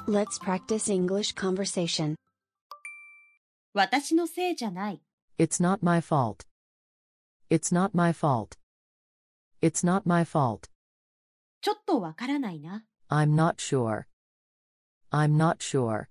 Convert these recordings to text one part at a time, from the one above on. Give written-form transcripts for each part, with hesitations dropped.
Let's practice English conversation. 私のせいじゃない。 It's not my fault. It's not my fault. It's not my fault. ちょっとわからないな。 I'm not sure. I'm not sure.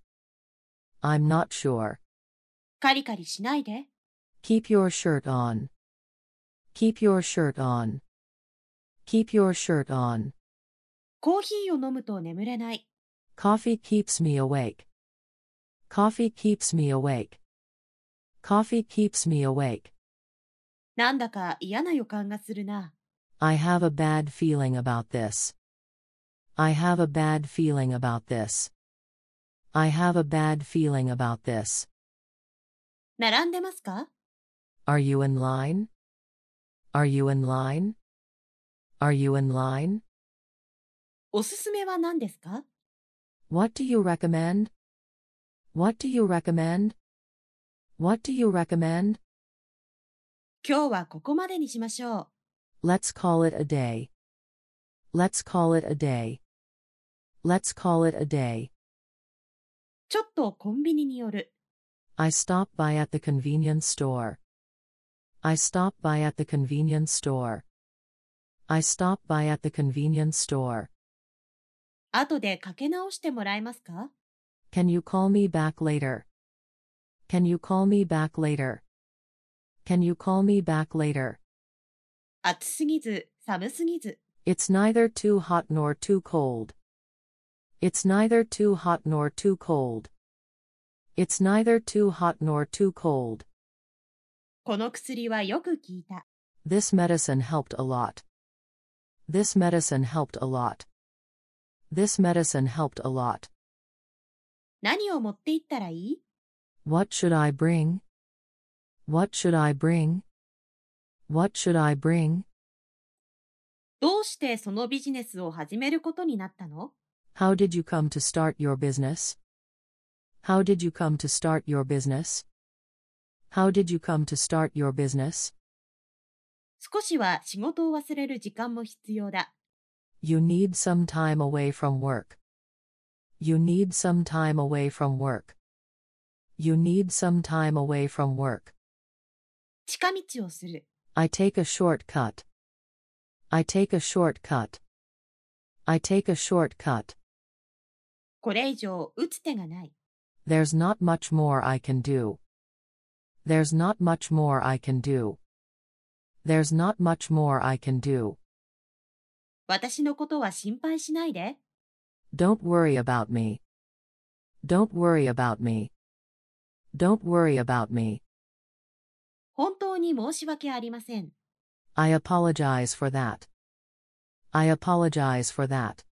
I'm not sure. カリカリしないで。 Keep your shirt on. Keep your shirt on. Keep your shirt on. コーヒーを飲むと眠れない。 Coffee keeps me awake. Coffee keeps me awake. Coffee keeps me awake. なんだか嫌な予感がするな。 I have a bad feeling about this. I have a bad feeling about this. I have a bad feeling about this. 並んでますか？ Are you in line? Are you in line? Are you in line? おすすめは何ですか？ What do you recommend? What do you recommend? What do you recommend? 今日はここまでにしましょう。 Let's call it a day. Let's call it a day. Let's call it a day. ちょっとコンビニに寄る。 I stop by at the convenience store. I stop by at the convenience store. I stop by at the convenience store. 後でかけ直してもらえますか？ Can you call me back later? Can you call me back later? Can you call me back later? 暑すぎず、寒すぎず。 It's neither too hot nor too cold. It's neither too hot nor too cold. It's neither too hot nor too cold. この薬はよく効いた。 This medicine helped a lot. This medicine helped a lot. This medicine helped a lot. 何を持って行ったらいい？ What should I bring? What should I bring? What should I bring? どうしてそのビジネスを始めることになったの？ How did you come to start your business? How did you come to start your business? How did you come to start your business? 少しは仕事を忘れる時間も必要だ。 You need some time away from work. You need some time away from work. You need some time away from work. 近道をする。 I take a shortcut. I take a shortcut. I take a shortcut. これ以上打つ手がない。 There's not much more I can do. There's not much more I can do. There's not much more I can do. 私のことは心配しないで。 Don't worry about me. Don't worry about me. Don't worry about me. 本当に申し訳ありません。 I apologize for that. I apologize for that.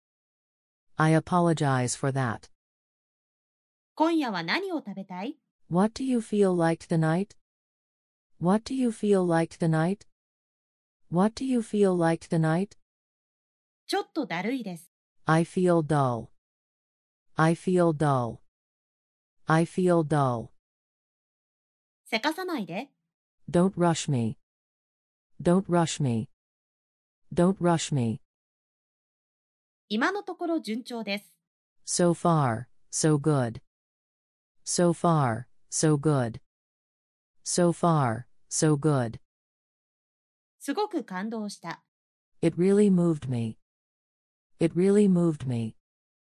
I apologize for that. 今夜は何を食べたい？ What do you feel like tonight? What do you feel like tonight? What do you feel like tonight? ちょっとだるいです。 I feel dull. I feel dull. I feel dull. せかさないで。 Don't rush me. Don't rush me. Don't rush me. 今のところ順調です。 So far, so good. So far, so good. So far, so good. すごく感動した。 It really moved me. It really moved me.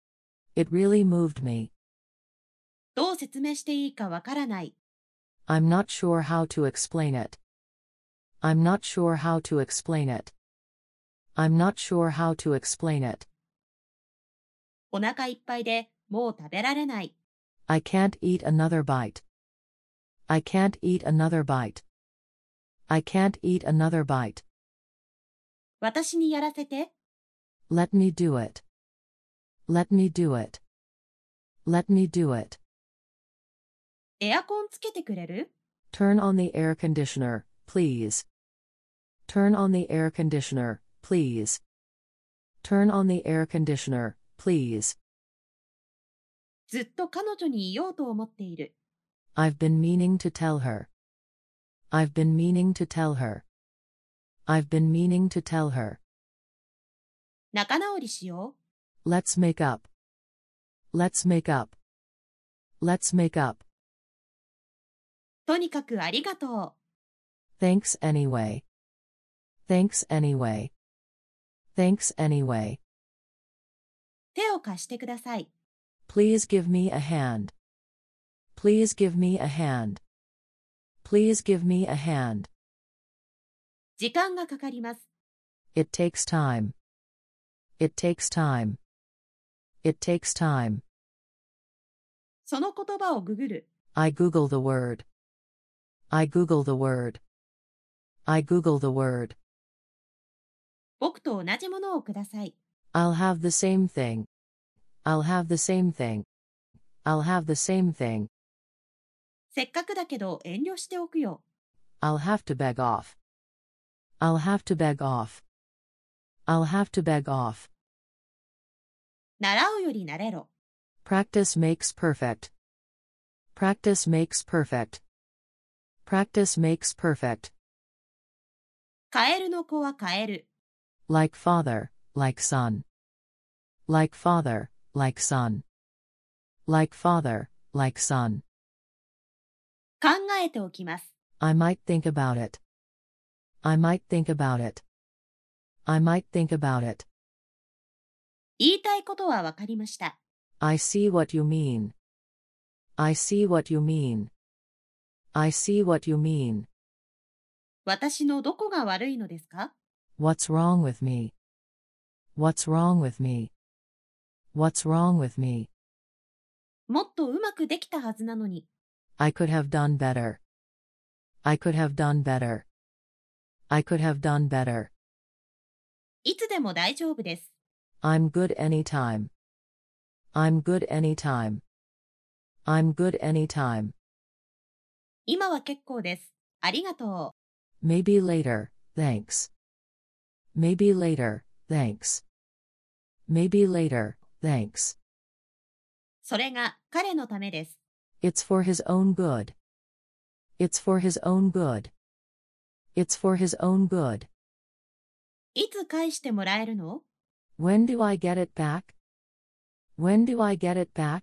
It really moved me. どう説明していいかわからない。 I'm not sure how to explain it. I'm not sure how to explain it. I'm not sure how to explain it. お腹いっぱいでもう食べられない。 I can't eat another bite. I can't eat another bite. I can't eat another bite. 私にやらせて。 Let me do it. Let me do it. Let me do it. エアコンつけてくれる？ Turn on the air conditioner, please. Turn on the air conditioner, please. Turn on the air conditioner, please. ずっと彼女に言おうと思っている。 I've been meaning to tell her. I've been meaning to tell her. I've been meaning to tell her. 仲直りしよう。 Let's make up. Let's make up. Let's make up. とにかくありがとう。 Thanks anyway. Thanks anyway. Thanks anyway. 手を貸してください。 Please give me a hand. Please give me a hand. Please give me a hand. 時間がかかります。 It takes time. It takes time. It takes time. その言葉をググる。 I Google the word. I Google the word. I Google the word. 僕と同じものをください。 I'll have the same thing. I'll have the same thing. I'll have the same thing. せっかくだけど遠慮しておくよ。 I'll have to beg off. I'll have to beg off. I'll have to beg off. 習うより慣れろ。 Practice makes perfect. Practice makes perfect. Practice makes perfect. カエルの子はカエル。 Like father, like son. Like father, like son. Like father, like son. 考えておきます。 I might think about it. I might think about it. I might think about it. 言いたいことはわかりました。 I see what you mean. I see what you mean. I see what you mean. 私のどこが悪いのですか？ What's wrong with me? What's wrong with me? What's wrong with me? もっとうまくできたはずなのに。 I could have done better. I could have done better. I could have done better. いつでも大丈夫です。 I'm good anytime. I'm good anytime. I'm good anytime. 今は結構です。ありがとう。 Maybe later, thanks. Maybe later, thanks. Maybe later, thanks. それが彼のためです。 It's for his own good. It's for his own good. It's for his own good. いつ返してもらえるの？ When do I get it back? When do I get it back?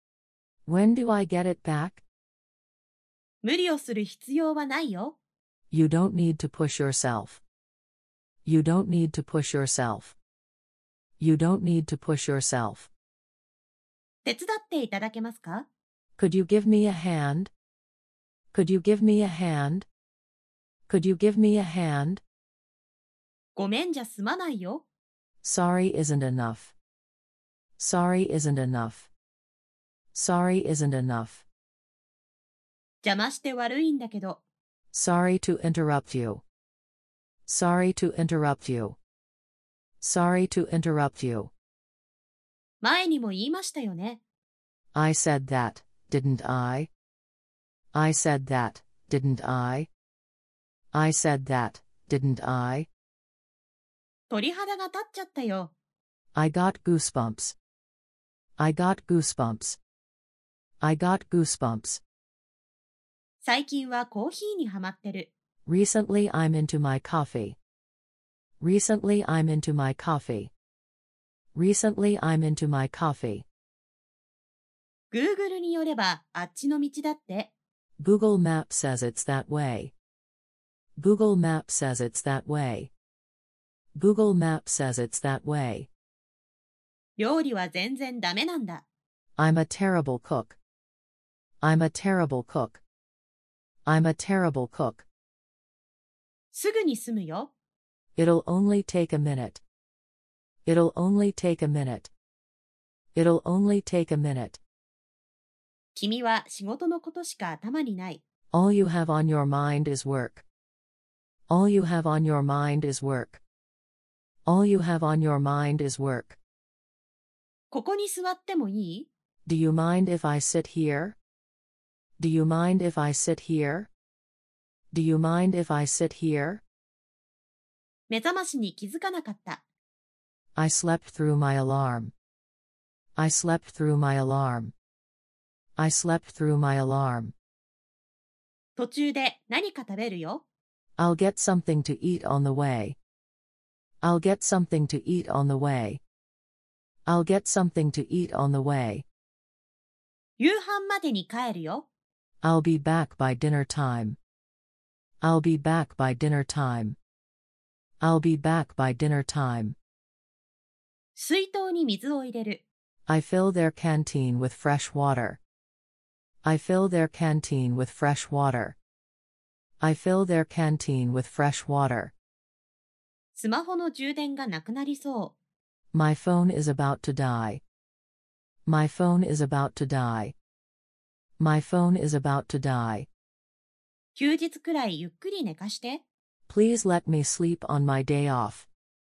When do I get it back? 無理をする必要はないよ。 You don't need to push yourself. You don't need to push yourself. You don't need to push yourself. 手伝っていただけますか？ Could you give me a hand? Could you give me a hand? Could you give me a hand? ごめんじゃ済まないよ。 Sorry isn't enough. Sorry isn't enough. Sorry isn't enough. 邪魔して悪いんだけど。 Sorry to interrupt you. Sorry to interrupt you. Sorry to interrupt you. 前にも言いましたよね。 I said that, didn't I? I said that, didn't I? I said that, didn't I? 鳥肌が立っちゃったよ。 I got goosebumps. I got goosebumps. I got goosebumps. 最近はコーヒーにハマってる。 Recently I'm into my coffee. Recently I'm into my coffee. Recently I'm into my coffee. Google によればあっちの道だって。 Google Maps says it's that way. Google Maps says it's that way. Google Maps says it's that way. 料理は全然ダメなんだ。 I'm a terrible cook. I'm a terrible cook. I'm a terrible cook. すぐに済むよ。 It'll only take a minute. It'll only take a minute. It'll only take a minute. 君は仕事のことしか頭にない。 All you have on your mind is work. All you have on your mind is work. All you have on your mind is work. ここに座ってもいい？ Do you mind if I sit here? Do you mind if I sit here? Do you mind if I sit here? 目覚ましに気づかなかった。 I slept through my alarm. I slept through my alarm. I slept through my alarm. 途中で何か食べるよ。 I'll get something to eat on the way. I'll get something to eat on the way. I'll get something to eat on the way. 夕飯までに帰るよ。 I'll be back by dinner time. I'll be back by dinner time. I'll be back by dinner time. 水筒に水を入れる。 I fill their canteen with fresh water. I fill their canteen with fresh water. I fill their canteen with fresh water. スマホの充電がなくなりそ My phone is about to die. My phone is about to die. My phone is about to die. う。休日くらいゆっくり寝かして。 Please let me sleep on my day off.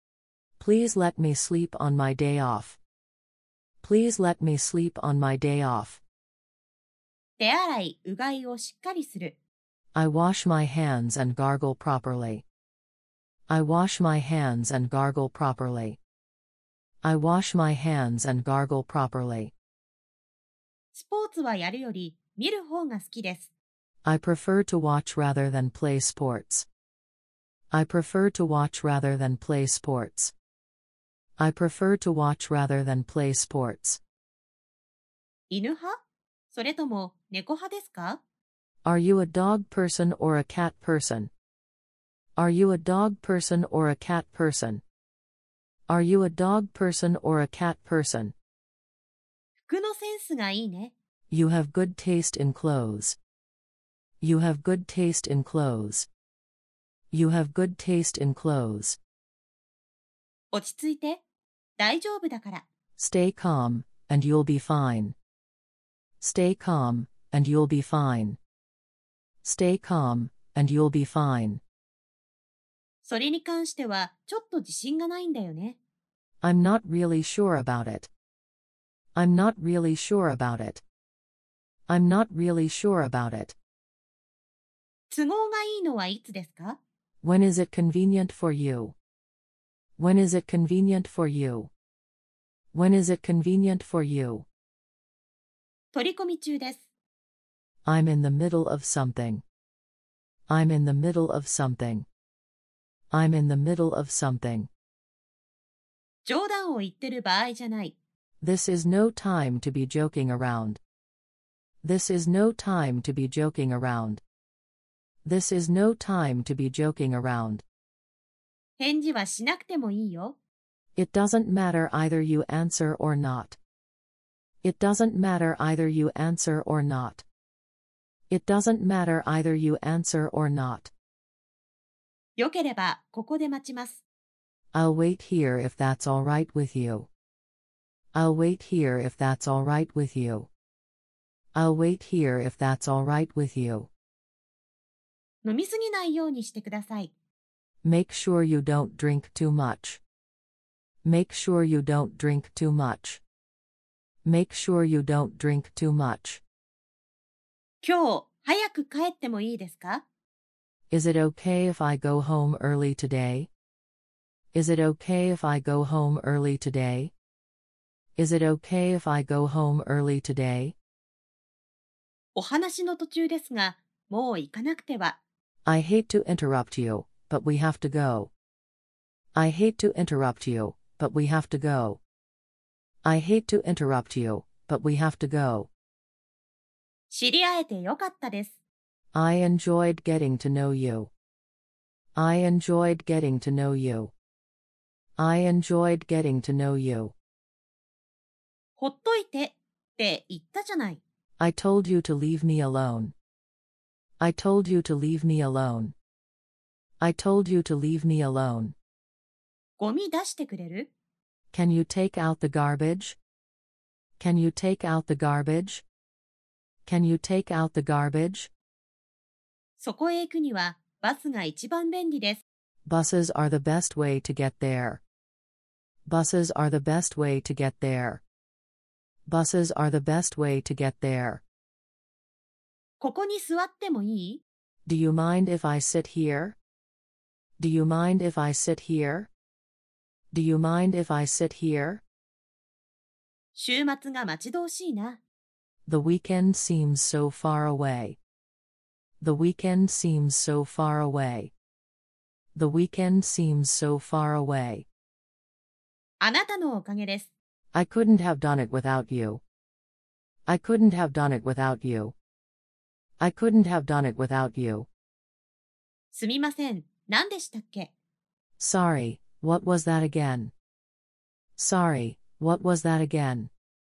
Please let me sleep on my day off. Please let me sleep on my day off. 手洗い、うがいをしっかりする。 I wash my hands and gargle properly. I wash my hands and gargle properly. I wash my hands and gargle properly. スポーツはやるより見る方が好きです。 I prefer to watch rather than play sports. I prefer to watch rather than play sports. I prefer to watch rather than play sports. 犬派？それとも猫派ですか？ Are you a dog person or a cat person? Are you a dog person or a cat person? Are you a dog person or a cat person? 服のセンスがいいね。 You have good taste in clothes. You have good taste in clothes. You have good taste in clothes. 落ち着いて。大丈夫だから。 Stay calm, and you'll be fine. Stay calm, and you'll be fine. Stay calm, and you'll be fine. それに関してはちょっと自信がないんだよね。 I'm not really sure about it. I'm not really sure about it. I'm not really sure about it. 都合がいいのはいつですか？ When is it convenient for you? When is it convenient for you? When is it convenient for you? 取り込み中です。 I'm in the middle of something. I'm in the middle of something. I'm in the middle of something. 冗談を言ってる場合じゃない。 This is no time to be joking around. This is no time to be joking around. This is no time to be joking around. 返事はしなくてもいいよ。 It doesn't matter either you answer or not. It doesn't matter either you answer or not. It doesn't matter either you answer or not. よければここで待ちます。 I'll wait here if that's all right with you. I'll wait here if that's all right with you. I'll wait here if that's all right with you. 飲みすぎないようにしてください。 Make sure you don't drink too much. Make sure you don't drink too much. Make sure you don't drink too much. 今日早く帰ってもいいですか？ Is it okay if I go home early today? Is it okay if I go home early today? Is it okay if I go home early today? お話の途中ですが、もう行かなくては。 I hate to interrupt you, but we have to go. I hate to interrupt you, but we have to go. I hate to interrupt you, but we have to go. 知り合えてよかったです。 I enjoyed getting to know you. I enjoyed getting to know you. I enjoyed getting to know you. ほっといてって言ったじゃない。 I told you to leave me alone. I told you to leave me alone. I told you to leave me alone. ゴミ出してくれる？ Can you take out the garbage? Can you take out the garbage? Can you take out the garbage? そこへ行くにはバスが一番便利です。 Buses are the best way to get there. Buses are the best way to get there. Buses are the best way to get there. ここに座ってもいい？ Do you mind if I sit here? Do you mind if I sit here? Do you mind if I sit here? 週末が待ち遠しいな。 The weekend seems so far away. The weekend seems so far away. The weekend seems so far away. あなたのおかげです。 I couldn't have done it without you. I couldn't have done it without you. I couldn't have done it without you. すみません、何でしたっけ？ Sorry, what was that again? Sorry, what was that again?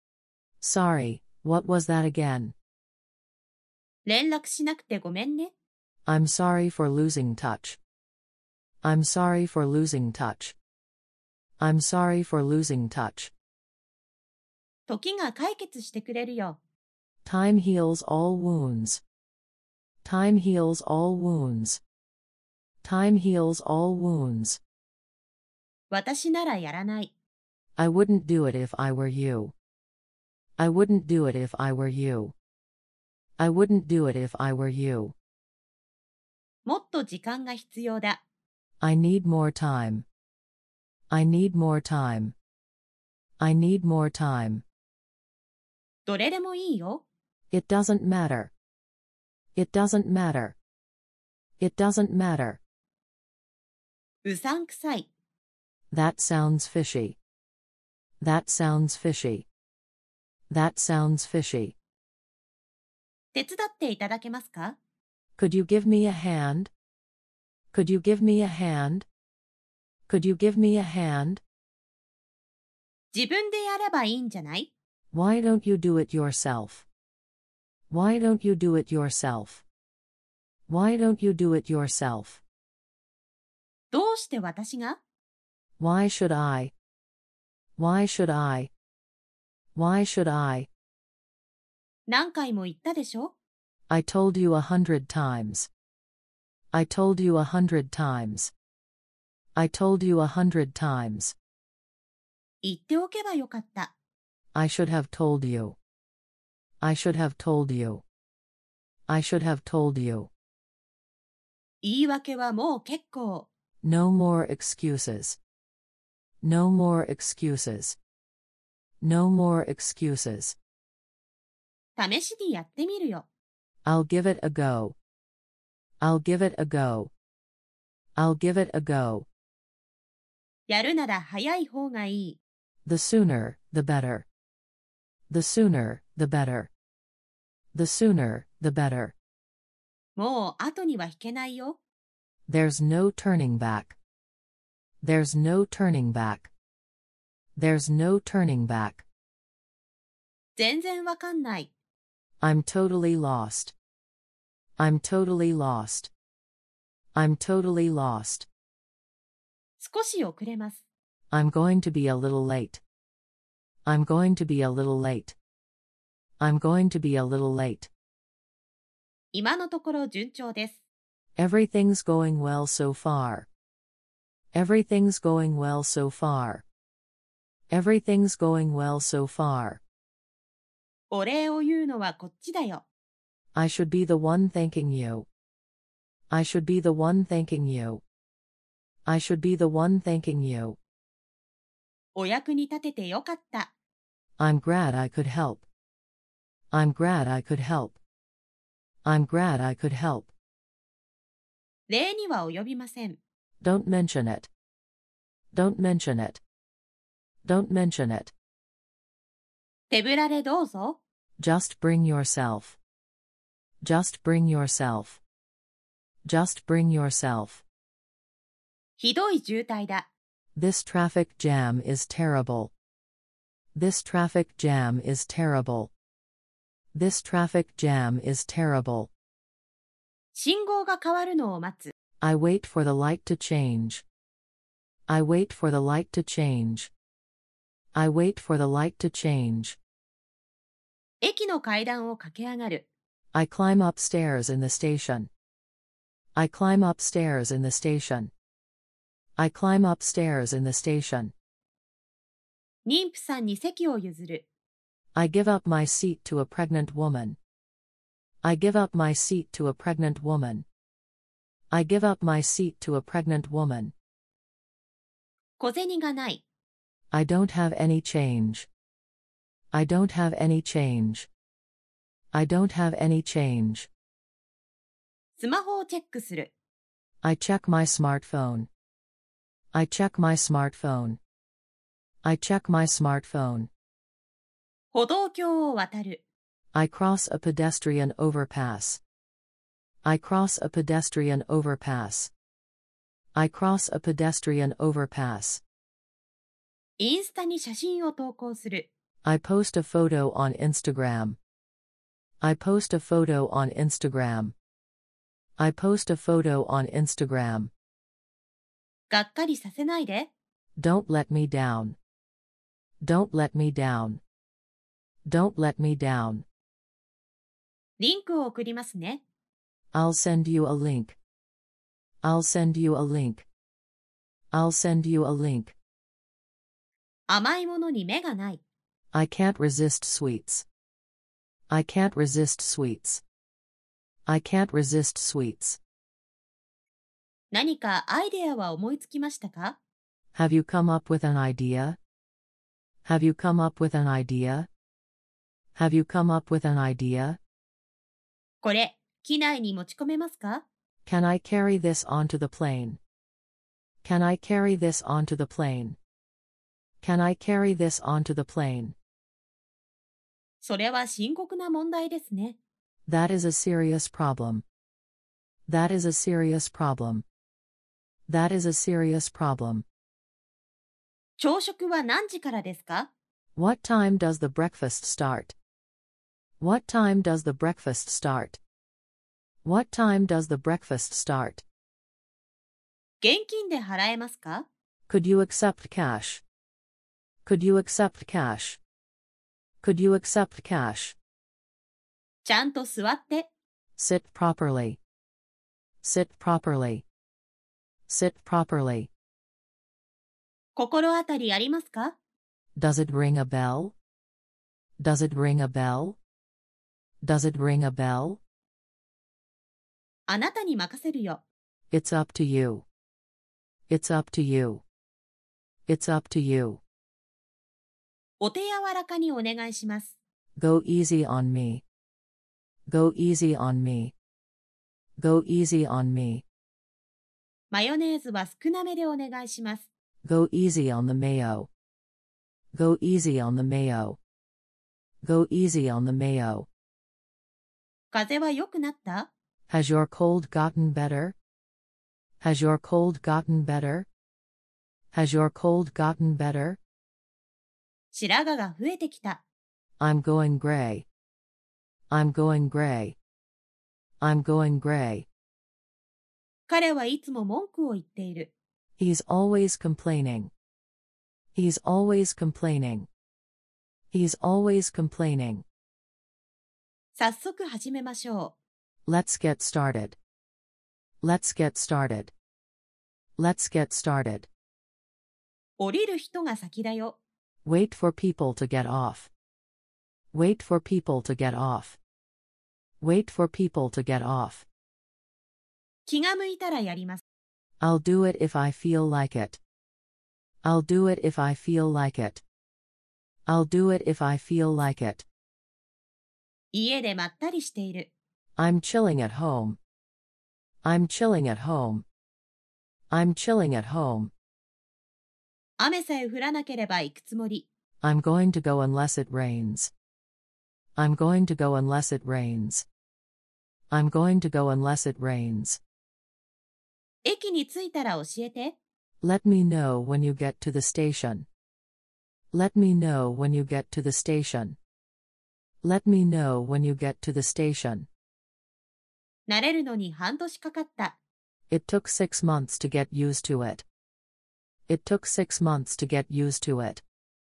Sorry, what was that again? 連絡しなくてごめんね。 I'm sorry for losing touch. I'm sorry for losing touch. I'm sorry for losing touch. 時が解決してくれるよ。 Time heals all wounds. Time heals all wounds. Time heals all wounds. 私ならやらない。 I wouldn't do it if I were you. I wouldn't do it if I were you. I wouldn't do it if I were you. もっと時間が必要だ。 I need more time. I need more time. I need more time. どれでもいいよ。 It doesn't matter. It doesn't matter. It doesn't matter. うさんくさい。 That sounds fishy. That sounds fishy. That sounds fishy. 手伝っていただけますか？ Could you give me a hand? Could you give me a hand? Could you give me a hand? 自分でやればいいんじゃない？ Why don't you do it yourself? Why don't you do it yourself? Why don't you do it yourself? どうして私が？ Why should I? Why should I? Why should I? 何回も言ったでしょ？ I told you 100 times. I told you 100 times. I told you 100 times. 言っておけばよかった。 I should have told you. I should have told you. I should have told you. 言い訳はもう結構。 No more excuses. No more excuses. No more excuses. 試しにやってみるよ。 I'll give it a go. I'll give it a go. I'll give it a go. やるなら早い方がいい。 The sooner, the better. The sooner, the better. The sooner, the better. もう後には引けないよ。 There's no turning back. There's no turning back. There's no turning back. 全然わかんない。 I'm totally lost. I'm totally lost. I'm totally lost. 少し遅れます。 I'm going to be a little late. I'm going to be a little late. I'm going to be a little late. 今のところ順調です。 Everything's going well so far. Everything's going well so far. Everything's going well so far. お礼を言うのはこっちだよ。 I should be the one thanking you. I should be the one thanking you. I should be the one thanking you. お役に立ててよかった。 I'm glad I could help. I'm glad I could help. I'm glad I could help. 礼には及びません。 Don't mention it. Don't mention it. Don't mention it. 手ぶらでどうぞ。 Just bring yourself. Just bring yourself. Just bring yourself. ひどい渋滞だ。 This traffic jam is terrible. This traffic jam is terrible. This traffic jam is terrible. 信号が変わるのを待つ。 I wait for the light to change. I wait for the light to change. I wait for the light to change. 駅の階段を駆け上がる。 I climb upstairs in the station. I climb upstairs in the station. I climb upstairs in the station. 妊婦さんに席を譲る。 I give up my seat to a pregnant woman. I give up my seat to a pregnant woman. I give up my seat to a pregnant woman. 小銭がない。 I don't have any change. I don't have any change. I don't have any change. スマホをチェックする。 I check my smartphone. I check my smartphone. I check my smartphone. 歩道橋を渡る。 I cross a pedestrian overpass. I cross a pedestrian overpass. I cross a pedestrian overpass. インスタに写真を投稿する。 I post a photo on Instagram. I post a photo on Instagram. I post a photo on Instagram. がっかりさせないで。 Don't let me down. Don't let me down. Don't let me down. リンクを送りますね。 I'll send you a link. I'll send you a link. I'll send you a link. 甘いものに目がない。 I can't resist sweets. I can't resist sweets. I can't resist sweets. 何かアイデアは思いつきましたか？ Have you come up with an idea? Have you come up with an idea? Have you come up with an idea? これ、機内に持ち込めますか？ Can I carry this onto the plane? Can I carry this onto the plane? Can I carry this onto the plane? それは深刻な問題ですね。 That is a serious problem. That is a serious problem. That is a serious problem. 朝食は何時からですか？ What time does the breakfast start? What time does the breakfast start? What time does the breakfast start? 現金で払えますか？ Could you accept cash? Could you accept cash? Could you accept cash? ちゃんと座って。 Sit properly. Sit properly. Sit properly. 心当たりありますか？ Does it ring a bell? Does it ring a bell? Does it ring a bell? あなたに任せるよ。 It's up to you. It's up to you. It's up to you. お手柔らかにお願いします。 Go easy on me. Go easy on me. Go easy on me. マヨネーズは少なめでお願いします。 Go easy on the mayo. Go easy on the mayo. Go easy on the mayo. 風邪は良くなった？ Has your cold gotten better? Has your cold gotten better? Has your cold gotten better? 白髪が増えてきた。 I'm going gray. I'm going gray. I'm going gray. 彼はいつも文句を言っている。 He's always complaining. He's always complaining. He's always complaining. 早速始めましょう。 Let's get started. Let's get started. Let's get started. 降りる人が先だよ。 Wait for people to get off. Wait for people to get off. Wait for people to get off. 気が向いたらやります。 I'll do it if I feel like it. I'll do it if I feel like it. I'll do it if I feel like it. 家でまったりしている。 I'm chilling at home. I'm chilling at home. I'm chilling at home. 雨さえ降らなければ行くつもり。 I'm going to go unless it rains. I'm going to go unless it rains. I'm going to go unless it rains. 駅に着いたら教えて。 Let me know when you get to the station. Let me know when you get to the station. Let me know when you get to the station. 慣れるのに半年かかった。 It took 6 months to get used to it. It took 6 months to get used to it.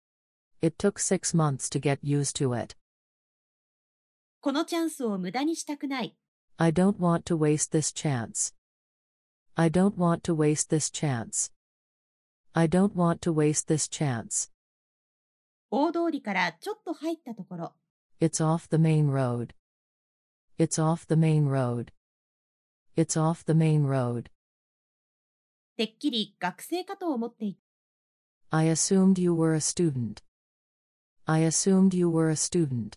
It took 6 months to get used to it. このチャンスを無駄にしたくない。 I don't want to waste this chance. I don't want to waste this chance. I don't want to waste this chance. 大通りからちょっと入ったところ。 It's off the main road. It's off the main road. It's off the main road. てっきり学生かと思っていた。 I assumed you were a student. I assumed you were a student.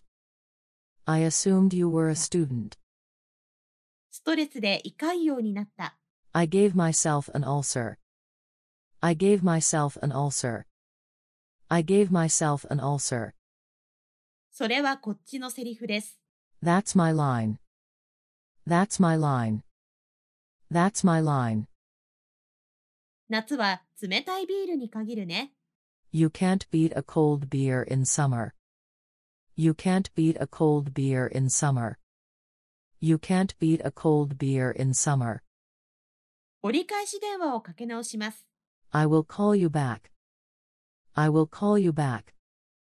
I assumed you were a student. ストレスで胃潰瘍になった。 I gave myself an ulcer. I gave myself an ulcer. I gave myself an ulcer. それはこっちのセリフです。 That's my line. That's my line. That's my line. 夏は冷たいビールに限るね。 You can't beat a cold beer in summer. You can't beat a cold beer in summer. You can't beat a cold beer in summer. 折り返し電話をかけ直します。 I will call you back. I will call you back.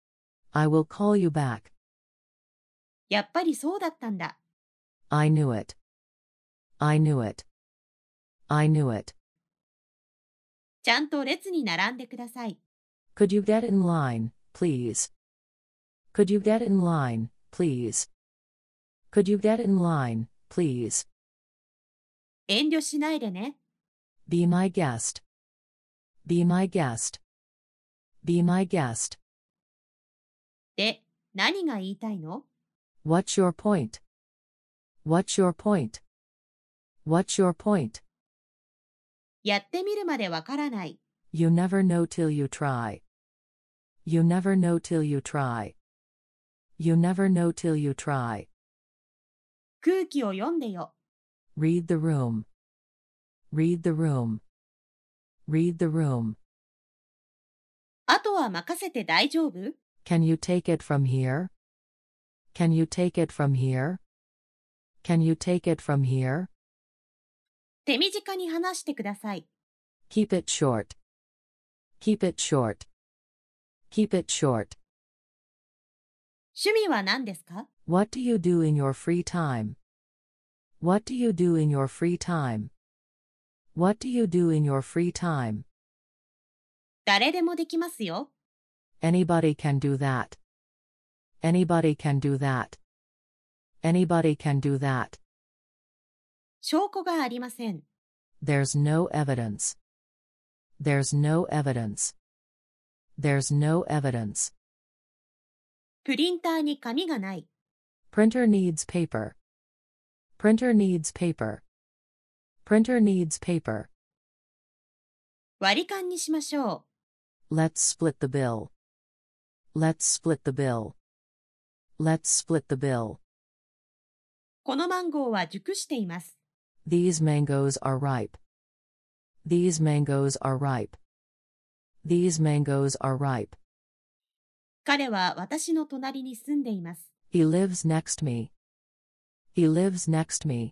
I will call you back. やっぱりそうだったんだ。 I knew it. I knew it. I knew it. ちゃんと列に並んでください。 Could you get in line, please? Could you get in line, please? Could you get in line, please? 遠慮しないでね。 Be my guest. Be my guest. Be my guest. で、何が言いたいの？ What's your point? What's your point? What's your point? やってみるまでわからない。 You never know till you try. You never know till you try. You never know till you try. 空気を読んでよ。 Read the room. Read the room. Read the room. あとは任せて大丈夫？ Can you take it from here? Can you take it from here? Can you take it from here? 手短に話してください。 Keep it short. Keep it short. Keep it short. 趣味は何ですか？ What do you do in your free time? What do you do in your free time? What do you do in your free time? 誰でもできますよ。 Anybody can do that. Anybody can do that. Anybody can do that. 証拠がありません。 There's no evidence. There's no evidence. There's no evidence. プリンターに紙がない。 Printer needs paper. Printer needs paper. Printer needs paper. 割り勘にしましょう。 Let's split the bill. Let's split the bill. Let's split the bill. このマンゴーは熟しています。 These mangoes are ripe. These mangoes are ripe. These mangoes are ripe. 彼は私の隣に住んでいます。 He lives next me. He lives next me.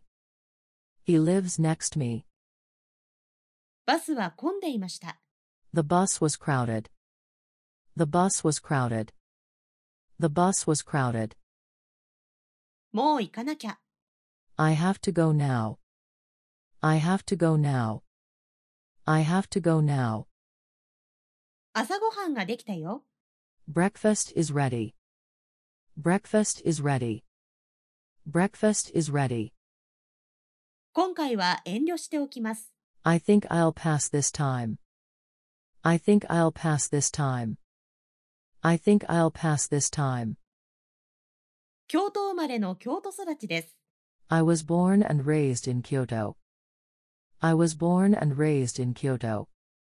He lives next me. バスは混んでいました。 The bus was crowded. The bus was crowded. The bus was crowded. もう行かなきゃ。 I have to go now. I have to go now. I have to go now. 朝ごはんができたよ。 Breakfast is ready. Breakfast is ready. Breakfast is ready. 今回は遠慮しておきます。 I think I'll pass this time. I think I'll pass this time. I think I'll pass this time. 京都生まれの京都育ちです。 I was born and raised in Kyoto. I was born and raised in Kyoto.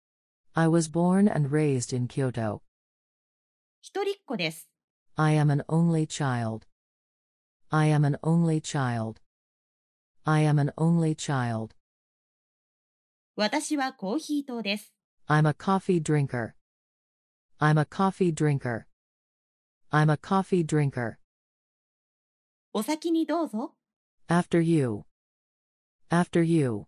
I was born and raised in Kyoto. 一人っ子です。 I am an only child. I am an only child. I am an only child. 私はコーヒー党です。 I'm a coffee drinker. I'm a coffee drinker. I'm a coffee drinker. お先にどうぞ。 After you. After you.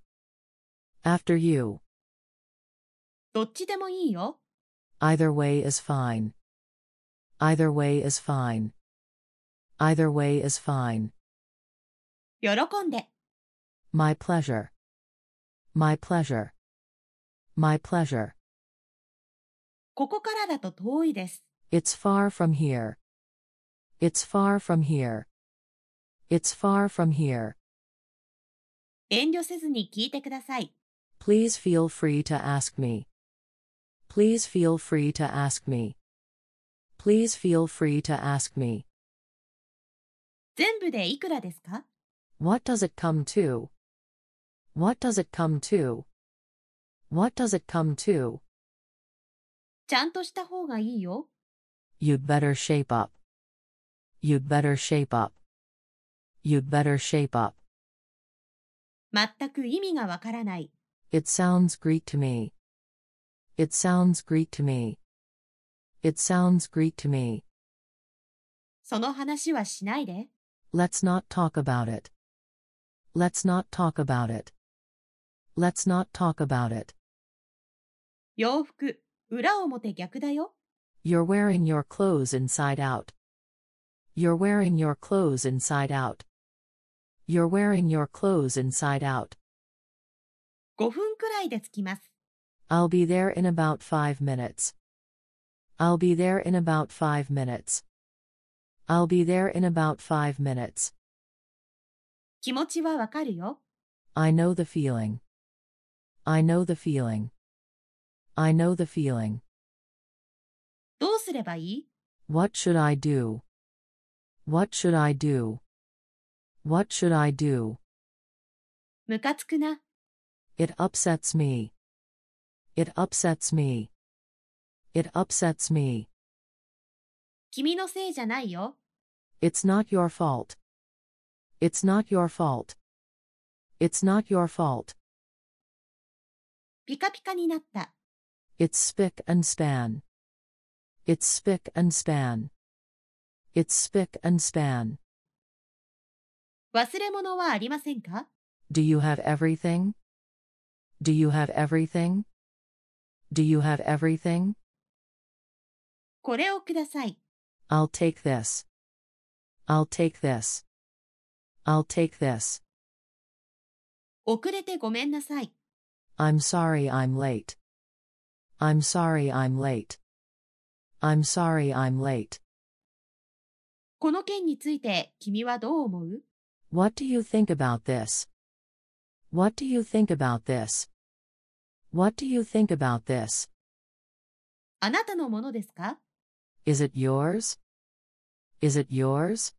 After you. どっちでもいいよ。 Either way is fine. Either way is fine. Either way is fine. 喜んで。 My pleasure. My pleasure. My pleasure. ここからだと遠いです。 It's far from here. It's far from here. It's far from here. 遠慮せずに聞いてください。 Please feel free to ask me. Please feel free to ask me. Please feel free to ask me. 全部でいくらですか？ What does it come to? What does it come to? What does it come to? ちゃんとした方がいいよ。 You'd better shape up. You'd better shape up. You'd better shape up. 全く意味がわからない。 It sounds Greek to me. It sounds Greek to me. It sounds Greek to me. その話はしないで。 Let's not talk about it. Let's not talk about it. Let's not talk about it. 洋服、裏表逆だよ。 You're wearing your clothes inside out. You're wearing your clothes inside out. You're wearing your clothes inside out. 5分くらいで着きます。 I'll be there in about 5 minutes. I'll be there in about 5 minutes. I'll be there in about 5 minutes. 気持ちはわかるよ。 I know the feeling. I know the feeling. I know the feeling. どうすればいい？ What should I do? What should I do? What should I do? ムカつくな。 It upsets me. It upsets me. It upsets me. 君のせいじゃないよ。 It's not your fault. It's not your fault. It's not your fault. ピカピカになった。 It's spick and span. It's spick and span. It's spick and span. 忘れ物はありませんか？ Do you have everything? Do you have everything? Do you have everything? これをください。 I'll take this. I'll take this. I'll take this. 遅れてごめんなさい。 I'm sorry I'm late. I'm sorry I'm late. I'm sorry I'm late. この件について君はどう思う？ What do you think about this? What do you think about this? What do you think about this? あなたのものですか？ Is it yours? Is it yours?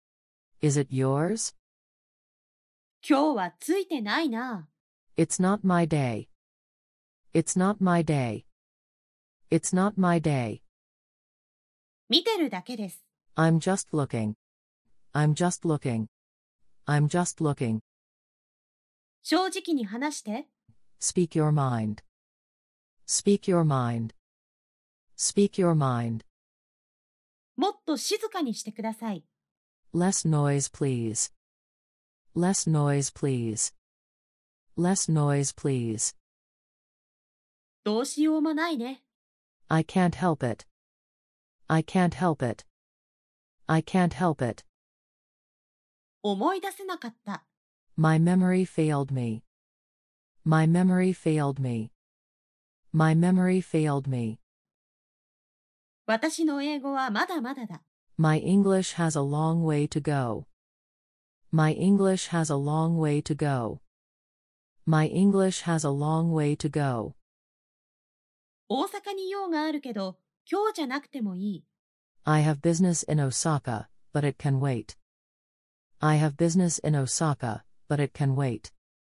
Is it yours? 今日はついてないな。 It's not my day. It's not my day. It's not my day. 見てるだけです。 I'm just looking. I'm just looking. I'm just looking. 正直に話して。 Speak your mind. Speak your mind. Speak your mind. もっと静かにしてください。 Less noise, please. Less noise, please. Less noise, please. どうしようもないね。 I can't help it. I can't help it. I can't help it. 思い出せなかった。 My memory failed me. My memory failed me. My memory failed me. 私の英語はまだまだだ。 My English has a long way to go. My English has a long way to go. My English has a long way to go. 大阪に用があるけど、今日じゃなくてもいい。 I have business in Osaka, but it can wait. I have business in Osaka, but it can wait.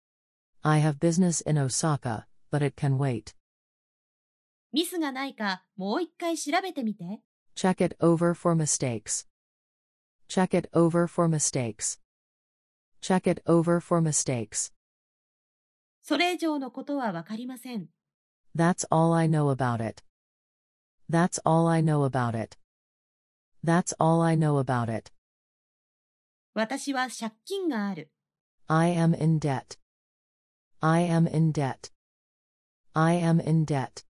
I have business in Osaka, but it can wait. ミスがないか、もう一回調べてみて。 Check it over for mistakes. Check it over for mistakes. Check it over for mistakes. それ以上のことはわかりません。 That's all I know about it. That's all I know about it. That's all I know about it. 私は借金がある。 I am in debt. I am in debt. I am in debt.